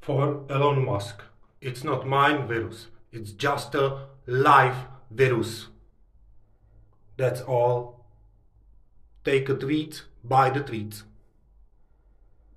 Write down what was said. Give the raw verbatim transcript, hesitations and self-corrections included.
for Elon Musk. It's not mine virus. It's just a live virus. That's all. Take a tweet, buy the tweet.